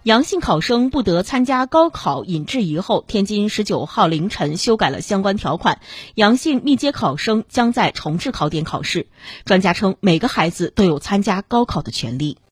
阳性考生不得参加高考引质疑后，天津19号凌晨修改了相关条款，阳性密接考生将在重置考点考试。专家称，每个孩子都有参加高考的权利。